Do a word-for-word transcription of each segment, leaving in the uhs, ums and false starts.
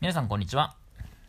皆さんこんにちは。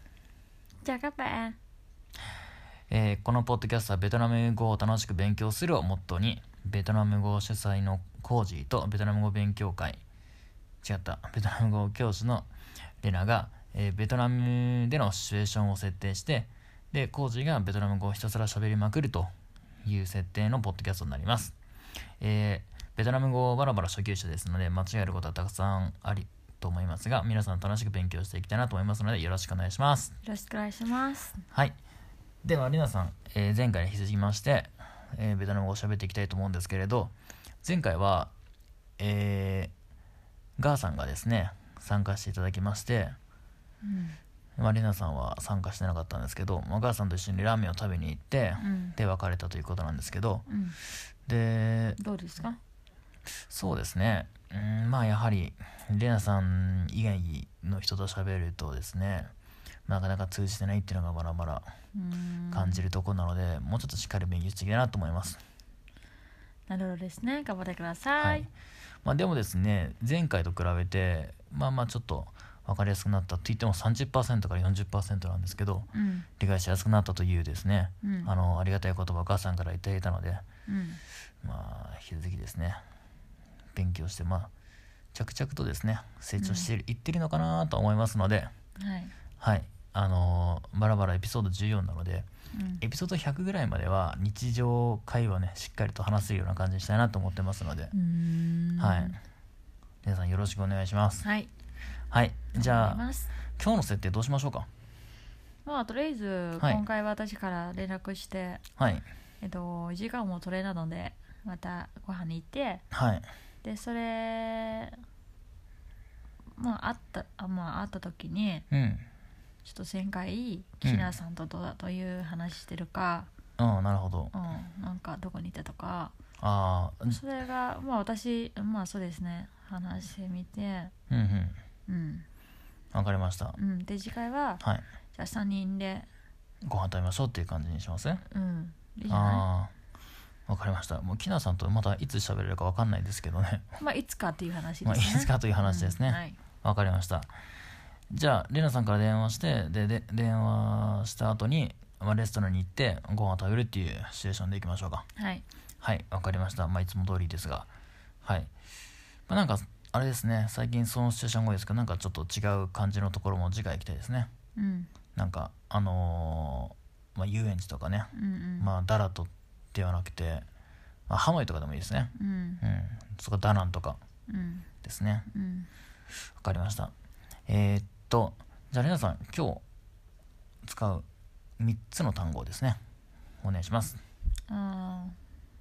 Chào các bạn。 えーこのポッドキャストはベトナム語を楽しく勉強するをモットーに、ベトナム語主催のコージーとベトナム語勉強会違ったベトナム語教師のレナが、えーベトナムでのシチュエーションを設定して、でコージーがベトナム語をひたすら喋りまくるという設定のポッドキャストになります。えーベトナム語バラバラ初級者ですので間違えることはたくさんありと思いますが、皆さん楽しく勉強していきたいなと思いますのでよろしくお願いします。 よろしくお願いします。 はい。ではレナさん、えー前回に引き続きまして、えーベトナム語を喋っていきたいと思うんですけれど、前回は、えーガーさんがですね参加していただきまして、 うんまあ、レナさんは参加してなかったんですけど、まあ、ガーさんと一緒にラーメンを食べに行って、 うん、 で別れたということなんですけど、 うん、 でどうですか？ そうですね、うん、まあやはりレナさん以外の人と喋るとですね、なかなか通じてないっていうのがまだまだ感じるところなので、もうちょっとしっかり勉強していきたいなと思います。 なるほどですね。頑張ってください。 はい。まあ、でもですね、前回と比べてまあまあちょっと分かりやすくなったと言っても さんじゅっパーセント から よんじゅっパーセント なんですけど、 うん、 理解しやすくなったというですね、 うん、 あのありがたい言葉をお母さんからいただいたので、 うん、 まあ引き続きですね勉強して、まあ着々とですね成長している、うん、いってるのかなと思いますので、 はいはい、あのー、バラバラエピソードじゅうよんなので、 うん、 エピソードひゃくぐらいまでは日常会話ねしっかりと話せるような感じにしたいなと思ってますので、 うーんはい、皆さんよろしくお願いします。 はい、 はい、じゃあ頑張ります今日の設定どうしましょうか。 まあとりあえず、 はい今回私から連絡してはいえっと時間も取れなのでまたご飯に行って、 はいでそれまあ会ったあまあ会った時にうんちょっと前回キナさんとどうだという話してるか、 ああなるほど、 うん、なんかどこにいたとか、 ああそれがまあ私まあそうですね話してみて、 うんうんうんわかりました。 うん、で次回は、 はい、 じゃあさんにんでご飯食べましょうっていう感じにしますね。 うんいいじゃなああわかりました。もうキナさんとまたいつ喋れるかわかんないですけどねいまあいつかっていう話ですね、 まあいつかという話ですね、 うん、はいわかりました。じゃあレナさんから電話してでで電話した後に、まあ、レストランに行ってご飯を食べるっていうシチュエーションでいきましょうか。 はいはいわかりました。まあいつも通りですが、はい、まあ、なんかあれですね、最近そのシチュエーション多いですけど、なんかちょっと違う感じのところも次回行きたいですね。 うんなんかあのーまあ、遊園地とかね、 うんうんまあダラトではなくて、まあ、ハノイとかでもいいですね。 うんうんそこダナンとかうんですね。 うんわかりました。えー、っとじゃあレナさん今日使うみっつの単語をですねお願いします。 あー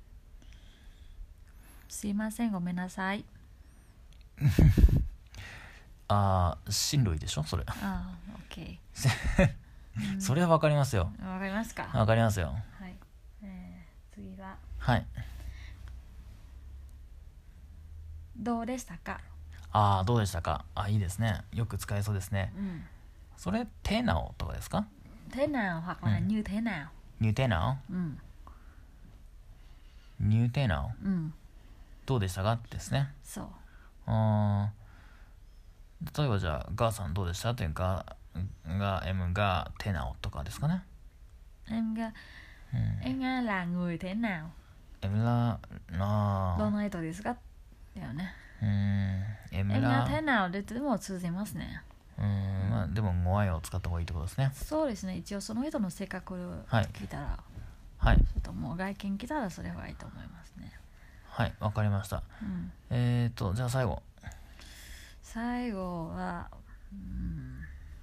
すいませんごめんなさい。 あー親類でしょそれあー OK それはわかりますよ。 わかりますか？ わかりますよ。 はい、えー、次ははいどうでしたか？ ああどうでしたか。あいいですね、よく使えそうですね。 うんそれテナオとかですか？ thế nào hoặc là Ừ. như thế nào。 ニューテナうん、 オニューテナオうん、 どうでしたかですね。 そうあー例えばじゃあガーさんどうでしたというかが M がテナオとかですかね。 em ga うん em ga là người thế nào M ラあどんな人ですかだよね。 ーうん M em ラが thế nào ででも通じますね。 うんまあでもご愛を使った方がいいってことですね。 そうですね、一応その人の性格をはい聞いたら、 はいちょっともう外見来たらそれはいいと思いますね。 はいわかりました。 うん、 えーとじゃあ最後最後は、うん、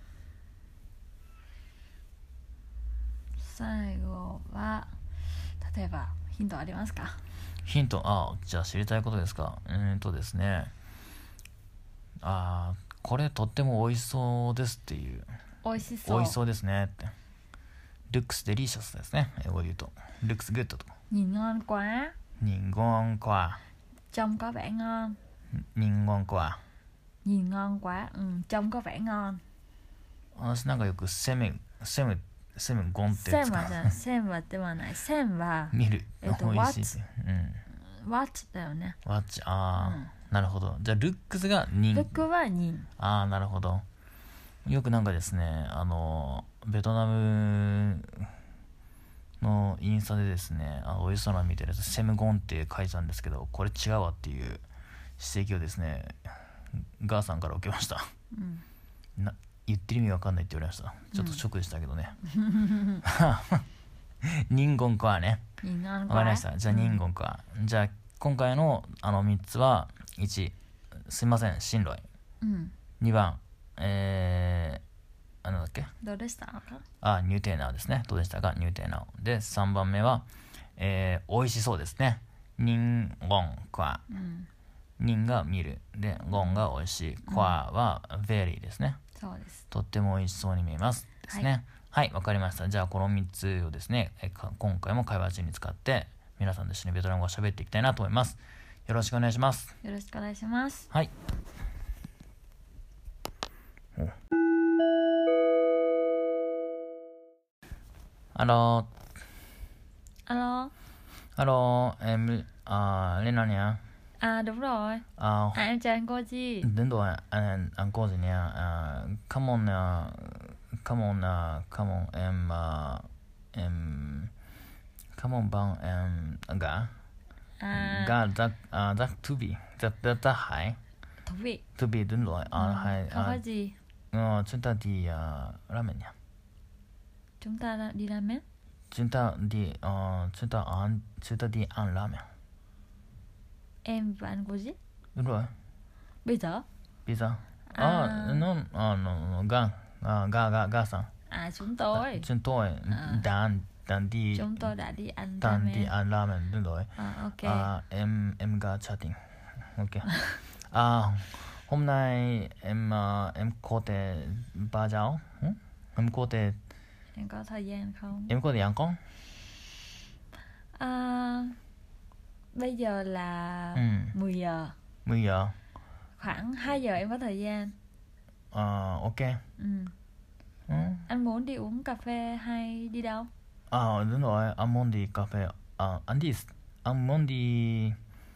最後は例えばヒントありますか？ ヒントあじゃあ知りたいことですか。うーんとですねあーこれとっても美味しそうですっていう、 美味しそう。 美味しそうですねって、looks delicious ですね、英語で言うと looks good とか nhìn ngon quá nhìn ngon quá trông có vẻ ngon nhìn ngon quá nhìn ngon quá、うん、trông có vẻ ngon。 私なんかよくセムセムセムゴンって線はじゃ線はではない線は見る、 えっと美味しいうん what だよね。 Watch ああ、 うんなるほど。じゃあルックスが人ルックは人。 ああなるほど。 よくなんかですね、あのベトナムのインスタでですね、あのおいしそうなの見てるやつセムゴンって書いてたんですけど、これ違うわっていう指摘をですねガーさんから受けました。 うんな言ってる意味わかんないって言われました。ちょっとショックでしたけどね。ニンゴンかね。わかりました。じゃあニンゴンか。じゃあ今回のあのみっつは、いちすいませんシンロイ、 うん、 にばんえー、あなんだっけ、 どうでしたか？ あニューテーナーですね。どうでしたかニューテーナーで、さんばんめは、えー、美味しそうですね。ニンゴンか。 うんニンが見るで、ゴンが美味しい、コアは very ですね。 そうです。 とっても美味しそうに見えますですね。はい、わ、はい、かりました。じゃあこのみっつをですね、え今回も会話中に使って皆さんと一緒にベトナム語を喋っていきたいなと思います。よろしくお願いします。 よろしくお願いします。 はい。Alo. Alo. Alo, em à, lên nào nhỉ? À đúng rồi. À, À em chào anh cô gì? đúng rồi, anh anh cô gì nhỉ? À, come on, uh, come on, uh, come on, em uh, em come on bang em gà. À Gà rất uh, rất thú vị, rất rất rất hay. thú vị. Thú vị đúng rồi. À, Ừ, hay. không có À, gì. ờ, chúng ta đi uh, ramen nhỉ? Chúng ta đã đi ramen. Chúng ta đi, uh, chúng ta ăn, chúng ta đi ăn ramen. Em và anh cô gì? Đúng rồi. Bây giờ? Pizza. À. À, nó, à, nó, nó, Gan, à, Ga, Ga, Ga sang. À chúng tôi. Chúng tôi À. đang, đang đi, Chúng tôi đã đi ăn đang ramen. đi ăn ramen, đúng rồi. À ok. À, em, em Ga chatting. Ok. À, hôm nay em, uh, em có thể ba giáo. Ừ? Em có thể, Em có thời gian không? em có thể ăn không? À, bây giờ là Ừ. mười giờ. mười giờ. Khoảng hai giờ em có thời gian. À, ok. Ừ. Ừ. Anh muốn đi uống cà phê hay đi đâu? À, đúng rồi, anh muốn đi cà phê. À, anh đi, anh muốn đi,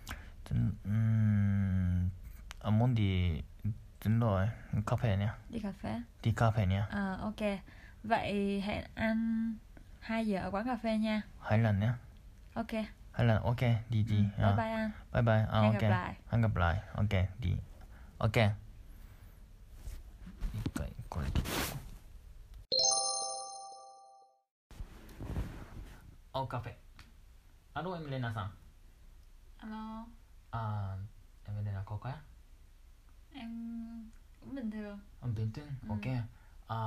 um, anh muốn đi, đúng rồi, cà phê nha. Đi cà phê. Đi cà phê nha. À ok. Vậy hẹn anh hai giờ ở quán cà phê nha. Hai lần nha. Ok. Hai lần, ok, đi đi. Ừ, bye bye anh. Bye bye. À, Hẹn ok. gặp lại. Hẹn gặp lại. Ok, đi. Ok. 一回これで。Ô cà phê. Alo em Lena sang. Alo. À, em Lena có cái? Em cũng bình thường. Em bình thường. Ừ. Ok. À,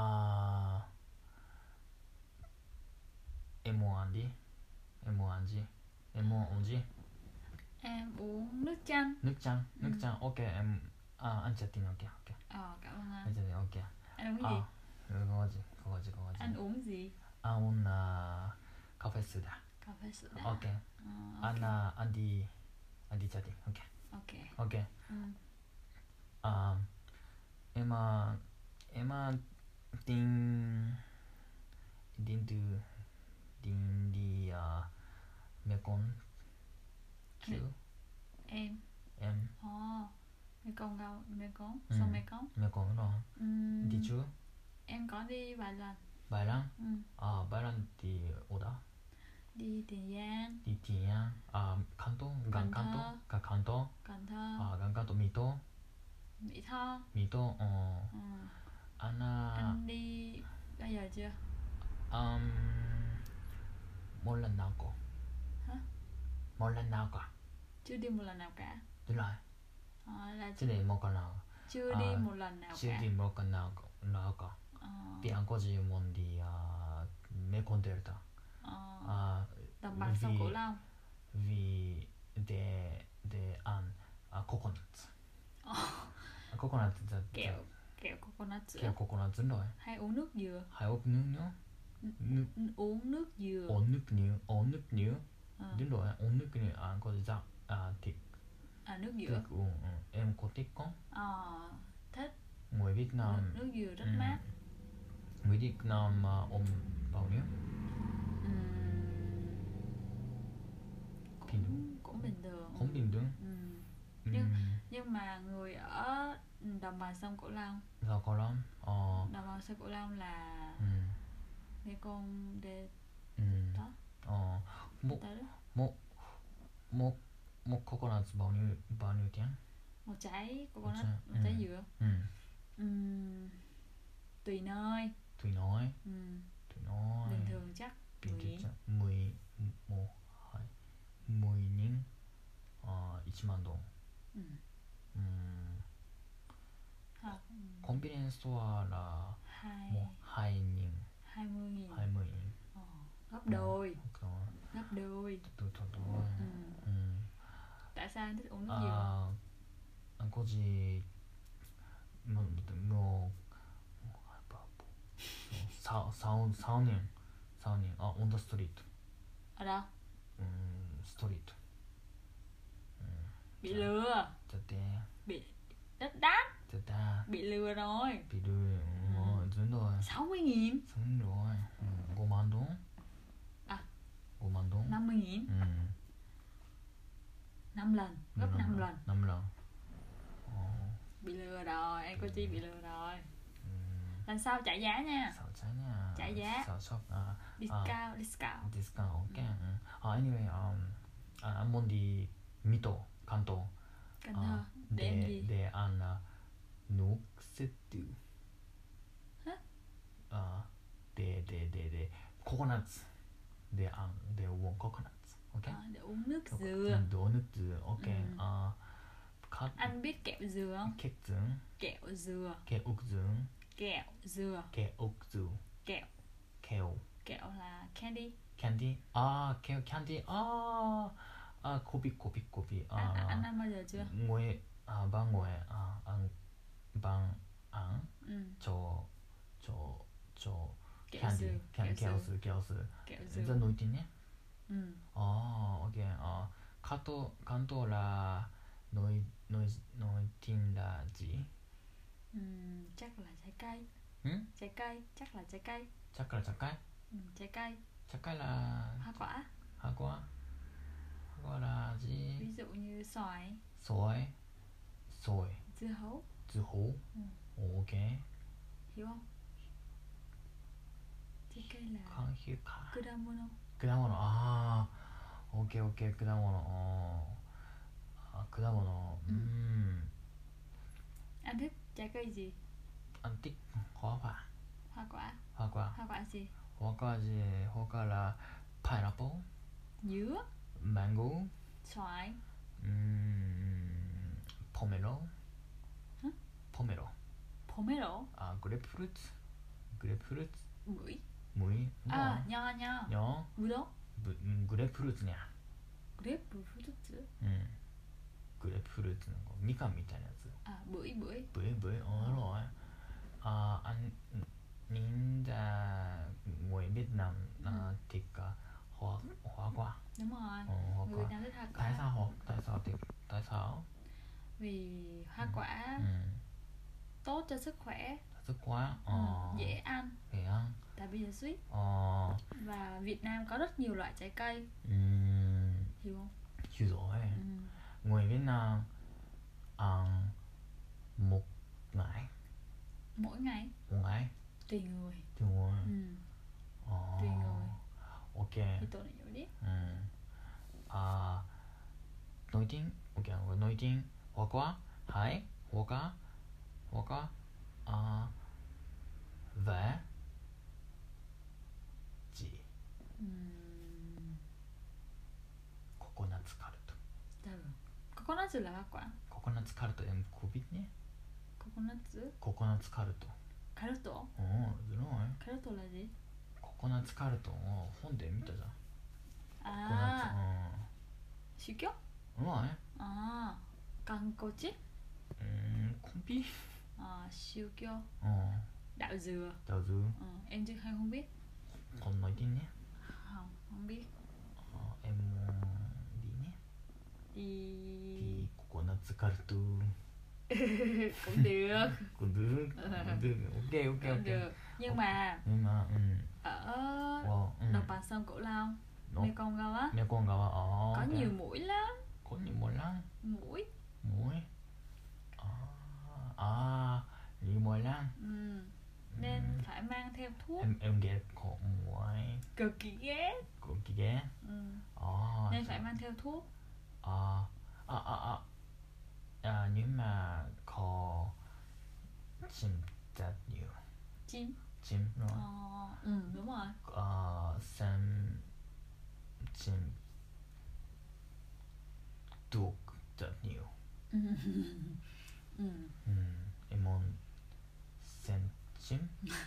em muốn ăn gì? Em muốn ăn gì? Em muốn uống gì? Em uống nước chanh. Nước chanh. Nước Ừ. chanh. Ok em. À, anh chatting ok ok. Ờ cảm ơn anh. Anh chatting ok. Anh uống gì? À, 그거 gì? 그거 gì? 그거 gì? Anh uống gì? À, uống uh, cà phê soda. Cà phê sữa đá. Ok. Ờ, ok. Anh uh, anh đi anh đi chatting. Ok. Ok. Ok. Ừ. À, em uh, em uh, tính tính từ tính đi uh, Mekong chứ Em. em Ồ. Mekong đâu? Mekong? Ừ. Sông Mekong? Mekong đó Ừ. đi chưa? Em có đi vài lần. Bài Lan. Ừ. À, Bài Lan đi ở đâu? Đi Tiền Giang, Đi Tiền Giang. À, Kanto, gần Cần Kanto, Thơ. gần Kanto. Cần Thơ, À, gần Kanto, Mỹ Tho, Mỹ Tho. Mỹ Tho. Ờ, Ừ. anh uh, Anh đi bao giờ chưa? um, một lần nào có? Hả? Một lần nào cả? Chưa đi một lần nào cả. Đúng rồi. Ờ, là Chứ để một lần nào? chưa à, đi một lần nào chưa cả. đi một lần nào nào cả. Ờ. Vì anh có gì muốn đi uh, Mekong Delta. Ờ. À, Đồng bằng sông vì- Cửu Long. vì để để ăn uh, coconut. Coconut là Kẹo kẹo coconut kẹo sữa. coconut đúng rồi. Hay uống nước dừa. Hay uống nước nữa. Nước N- uống nước dừa. uống nước nữa, uống nước nữa. Ờ. Đúng rồi, uống nước nữa anh có dạ à thịt À nước dừa. thịt uống. Ừ. Em có thích không? Ờ. Thích. Người Việt Nam. Nước dừa rất Ừ. mát. Người Việt Nam uh, uống bao nhiêu? Ừm, Bình cũng cũng bình thường. Không bình thường. Ừm. Ừ. Nhưng- Nhưng mà người ở Ừ, đồng bằng sông Cửu Long. Sao Cửu Long? Ờ. Đồng bằng sông Cửu Long là Ừ. Mekong de Ừ. đó. Ờ. Một Tới đó. một một một coconut bao nhiêu bao nhiêu tiền? Một trái Một coconut, trái- một trái ừ. dừa. Ừ. Ừm, tùy nơi. Tùy nói. Ừm, Tùy nói. bình thường chắc bình mười thường nghìn. chắc mười một hai mười nghìn. Ờ, một万đồng. Ừ. Ừ. Học Convenience store là hai một hai nghìn. hai mươi nghìn. hai mươi nghìn. Ờ, gấp đôi. Ờ, Gấp đôi. tôi tôi tôi. Ừ. Ừ. Tại sao anh thích uống nước dừa? À, anh có gì mà 뭐 sáu sáu sáu年sáu年あon the street. Ở đâu? Ừ, street. Ừ. Bị lừa. Chết đẻ. Bị đất đắt. Chết đẻ. Bị lừa rồi. Bị lừa. Ừ, đúng rồi. sáu mươi nghìn. đúng rồi. Ừ, năm万đồng. À, năm万đồng. năm mươi nghìn. Ừ. năm lần, gấp năm lần. năm lần. Ồ. Bị lừa rồi, anh cô Chi bị lừa rồi. Ừ. Lần sau trả giá nha. sáu trái nha. Trả giá. sáu shop à. Discount, discount. Discount. Ok. Ừ. À, anyway, um, à, anh muốn đi Mít Tổ,関東. Cần Thơ. Để em để gì? để ăn uh, nước setu. Hả? À, để để để để coconuts. Để ăn để uống coconuts. Ok. À, để uống nước dừa. Đồ nước dừa. Ok. Ừ. À, cut. Anh biết kẹo dừa không? Kẹo dừa. Kẹo dừa. Kẹo ốc dừa. Kẹo dừa. Kẹo ốc dừa. Kẹo. Kẹo. Kẹo là candy. Candy. À, kẹo candy. À, à, kopi kopi kopi. À, À, anh ăn bao giờ chưa? ngồi à ban ngồi à ăn ban ăn Ừ. cho cho cho Kẹo candy. dừa. Kẹo Kẹo dừa. Kẹo dừa. Kẹo Rất dừa. nổi tiếng nhé. Ừ. À, ok. À,関東関東là nổi nổi nổi tiếng là gì? Ừ, chắc là trái cây. Ừ? Trái cây, chắc là trái cây. Chắc là trái cây. Ừ, trái cây. Trái cây là Hoa quả. hoa quả. Hoa quả là gì? Ví dụ như xoài, Xoài. Xoài. dưa hấu. Dưa hấu. Ừ. Ok. Hiểu không? Trái cây là Không hiểu cả. kudamono. 果物。ああ、オッケーオッケー。果物。あー、果物。う Ừ. ん。 Anh thích trái cây gì? Anh thích hoa quả. Hoa quả. Hoa quả. Hoa quả gì? Hoa quả gì? Hoa quả là pineapple, Dứa. mango, Xoài. um, pomelo. Hả? Pomelo. Pomelo. À, grapefruit. Grapefruit. Bưởi. Muối. Đúng À, rồi. nho nho. Nho. Bưởi đó. Bu- 음, grapefruit nha. Grapefruit. うん。グレープフルーツのこうみかんみたいなやつ。 À, bưởi bưởi. Bưởi bưởi. Ồ, đúng rồi. À, anh nhìn ra người Việt Nam Ừ. uh, thích uh, hoa hoa quả. Đúng rồi. Ồ, hoa Người quả. Việt Nam thích hoa Tại quả. sao họ tại sao thích tại sao? Vì hoa Ừ. quả Ừ. tốt cho sức khỏe. Sức quá. Ừ, Ờ. dễ ăn. Dễ ăn. Tại vì là sweet. Ờ. Và Việt Nam có rất nhiều loại trái cây. Ừm. Hiểu không? Hiểu rồi. Ừ. Người Việt Nam ăn một ngày. Mỗi ngày. Một ngày. Tùy người. Tùy người. Ừ. Ờ. Tùy người. Ok. Thì tôi lại hiểu đi. Ừ. À, nổi tiếng. Ok, nổi tiếng hoa quả. Hai hoa quả. Hoa quả. À, và gì? Ừ. Coconut cart. Từ. Coconut là hoa quả. Coconut cart em có biết nhé. Coconut. Coconut cart. Caroto. Ồ, đúng rồi. Caroto là gì? Coconut cart. Ồ, sáchで見たじゃん。 À, Coconut. sư kiốt. Đúng rồi. À, kankochi. Ừ, không biết. À, sư kiốt. Ờ, Đạo dừa. đạo dừa. Ờ, em chưa hay không biết. Còn nổi tiếng nhé. Không, không biết. Ờ, em muốn đi nhé. Đi. Đi coconut cart. Cũng được. Cũng được. Cũng được. Ok, ok, Cũng ok. được. Nhưng mà Nhưng mà, ừ. ở Wow, ừ. đồng bằng sông Cửu Long, Nó- Mekong á, Mekong 가봐. 어, có ok. nhiều mũi lắm. có nhiều mũi lắm. Mũi. Mũi. À, à, em ghét có muối cực kỳ ghét. cực kỳ ghét. Ừ. À, Nên phải mang theo thuốc. à, à, à, à, à, nhưng mà có chim rất nhiều. Chim. Chim đúng Ờ, không? ừ đúng rồi. Ờ, xem chim đục rất nhiều. Ừ. Ừ. Ừ, em muốn xem chim.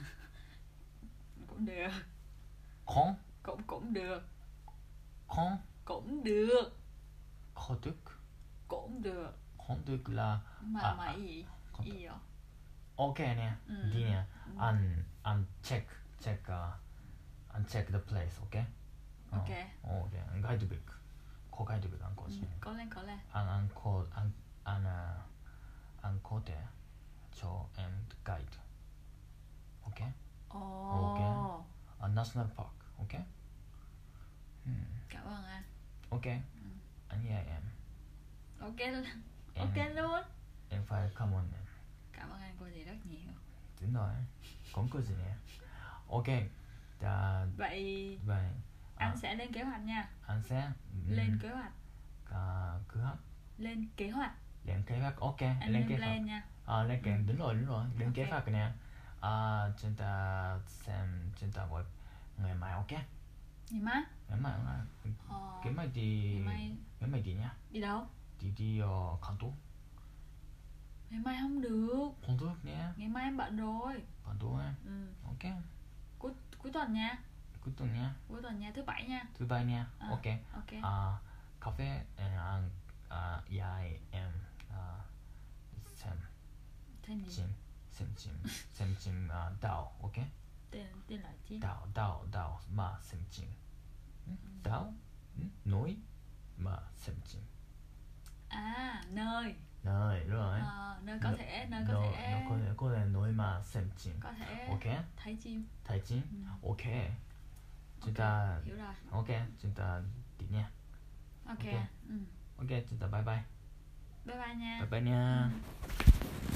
Cũng được. Con, Cũng cũng được. con, Cũng được. có được. Cũng được. Không được là Mà à, mà à, gì? không Gì vậy? ok nè, Ừ. đi nè, Ừ. anh anh check check uh, anh check the place, ok? Ok. Ờ, ok, anh guidebook, có guidebook anh có Ừ. chứ? Có lên có lên. Anh anh có anh anh uh, anh có thể cho em guide, ok? Ồ. Ok. Ở National Park, ok? Hmm. Cảm ơn anh. Ok, Ừ. anh nhờ em. Ok. Em, Ok luôn. em phải cảm ơn em. Cảm ơn anh cô gì rất nhiều. Đúng rồi, không có gì nè. Ok, đã, Vậy vậy anh à, sẽ lên kế hoạch nha. anh sẽ um, Lên kế hoạch. à, kế hoạch, Lên kế hoạch. lên kế hoạch, ok, Anh lên lên kế hoạch. plan nha. À, lên kế, Ừ. đúng rồi, đúng rồi, lên Ok. kế hoạch nè. À, chúng ta xem, chúng ta gọi ngày mai, ok? Ngày mai. Ngày mai, ngày mai, Ờ, ngày mai đi, ngày mai ngày mai đi nhá. đi đâu? Đi đi ở Kanto. Ngày mai không được. Không được nhé, Ngày mai em bận rồi. Kanto em, Ừ. ok? Cuối cuối tuần nha. Cuối tuần nhá, Cuối tuần nha, thứ bảy nha. thứ bảy nha, À, ok? ok. À, cà phê, anh, à, dạy em à, xem Tên gì? chim, xem chim, xem chim à, đào, ok? Tên tên là chi? đào, đào, đào mà xem chim. Ừ, đào, ừ, núi mà xem chim. À, nơi. Nơi, đúng rồi. Ờ, nơi có Nơi- thể, nơi có nơi- thể nơi có thể, có thể núi mà xem chim. có thể Ok? thấy chim. Thấy chim? Ừ. Ok. Chúng Ok, ta, hiểu rồi. ok, chúng ta đi nha. Ok. Ok. Ừ. Ok, chúng ta bye bye. Bye bye nha. Bye bye nha. Ừ.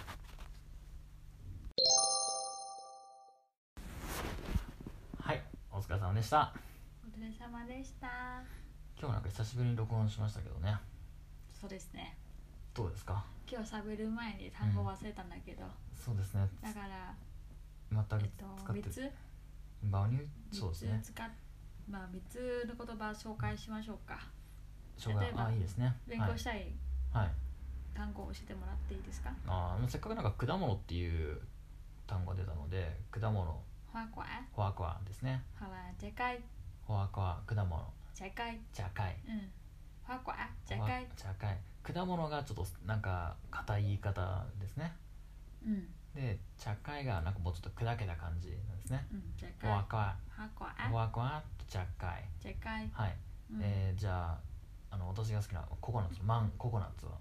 はい、お疲れ様でした。 お疲れ様でした。 今日なんか久しぶりに録音しましたけどね。 そうですね。 どうですか？ 今日喋る前に単語忘れたんだけど、 そうですね。 だから全くえっと使って三つ場にそうですね。 三つ使っまあ三つの言葉を紹介しましょうか。 障害例えばあいいですね。 勉強したいはい。はい。 単語を教えてもらっていいですか？ あーせっかくなんか果物っていう単語が出たので、果物、 花quả フォアコアですね。 hoặc là trái cây, フォアコア、果物、 trái cây. 茶会。 Ừ. Hoa quả, trái フォア cây. 茶会。果物がちょっとなんか硬い言い方ですね。 Ừ. で、茶会がなんかもうちょっと砕けた感じなんですね。 Ừ. Trái フォア cây. コア、 Hoa フ quả, ォアコアと茶会。 trái cây. はい。 うんえー、じゃあ、あの私が好きなココナッツ、マンココナッツは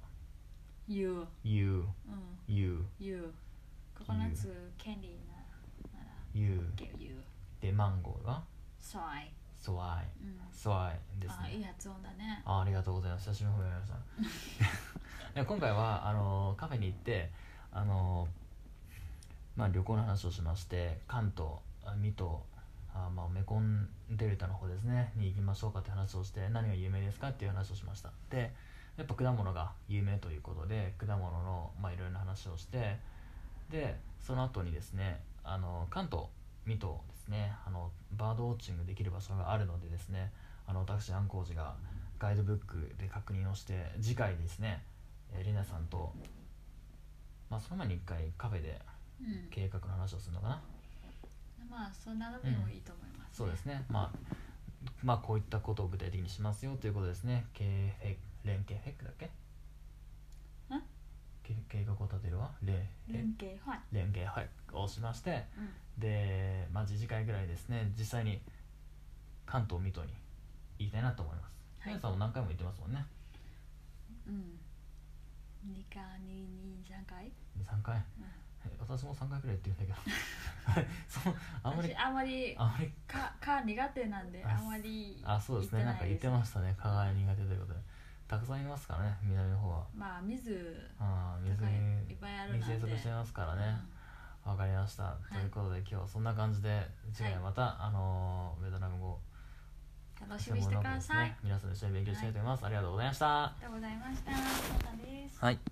dừa. You, うん You, dừa. ココナッツキャンディーななら You 結構 dừa. でマンゴーがソイ。 ソワイ、 うん。 ソワイですあ、いいね。 発音だね。 あ、ありがとうございます。久しぶりに褒められましたで今回はあのカフェに行ってあの、まあ、旅行の話をしまして、関東、水戸、あ、まあ、メコンデルタの方ですねに行きましょうかって話をして、何が有名ですかっていう話をしました。でやっぱ果物が有名ということで、果物のまあいろいろな話をして、でその後にですね、あの関東水戸ですね、あのバードウォッチングできる場所があるのでですね、あの私安光寺がガイドブックで確認をして、次回ですね、えー、リナさんと、まあ、その前に一回カフェでうん。 計画の話をするのかな。 まあそんなのでもいいと思います、ね。 そうですね、まあ、まあこういったことを具体的にしますよということですね。計画連携フェックだっけ？ ん？ け計画を立てるわ連連携はい。 連携はいをしまして、 うん。 で、まあ、次次回ぐらいですね、実際に関東水戸に行きたいなと思います。 はい皆さんも何回も行ってますもんね。 うん。にかににさんかい？ にさんかい、 うん。 私もさんかいくらい行ってるんだけどそうあんまり私あんまりあんまりかか苦手なんでああんまりあ、そうですね、なんか言ってましたね、蚊が苦手ということで。たくさんいますからね、南の方は。 まあ水ああ、水高いいっにぱいあるなんで水生息してますからね。 わかりました、ということで今日はそんな感じで次回また、あのーベトナム語楽しみにしてください、 専門の方ですね、皆さんで一緒に勉強したいと思います、はい、ありがとうございました。 ありがとうございました。またです。 はい。